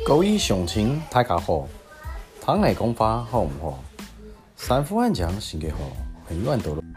各位乡亲大家好，汤来讲法好唔好？三伏暗江性格好，温暖多了。